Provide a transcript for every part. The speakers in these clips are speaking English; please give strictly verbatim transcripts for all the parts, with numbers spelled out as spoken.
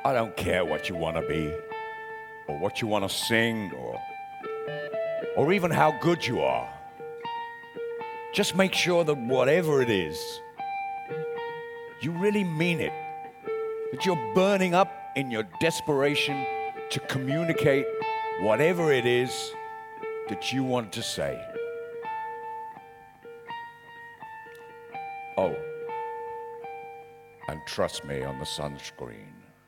I don't care what you want to be, or what you want to sing, or, or even how good you are. Just make sure that whatever it is, you really mean it. That you're burning up in your desperation to communicate whatever it is that you want to say. Oh, and trust me on the sunscreen.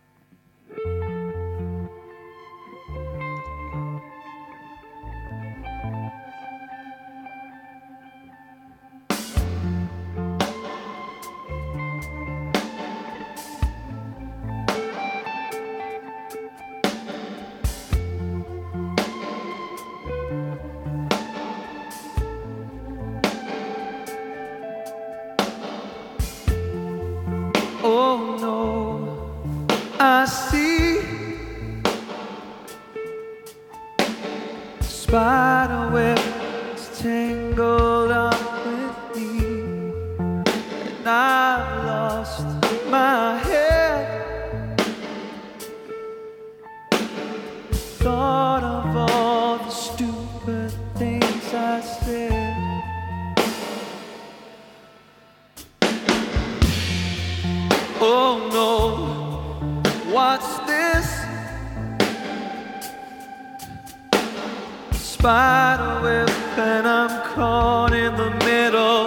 Oh no, I see spider webs tangled up with me, and I've lost my head. Thought of all the stupid things I said. Oh no, what's this? Spider web and I'm caught in the middle.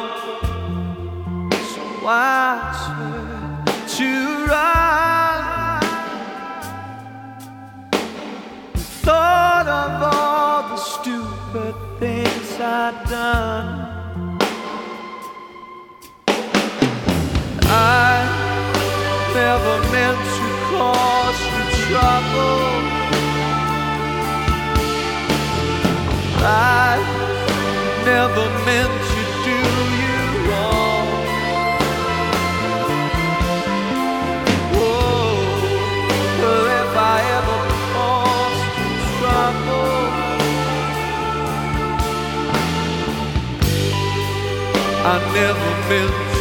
So I swear to run. Thought of all the stupid things I'd done. I never meant to cause you trouble. I never meant to do you wrong. Oh, but if I ever caused you trouble, I never meant to.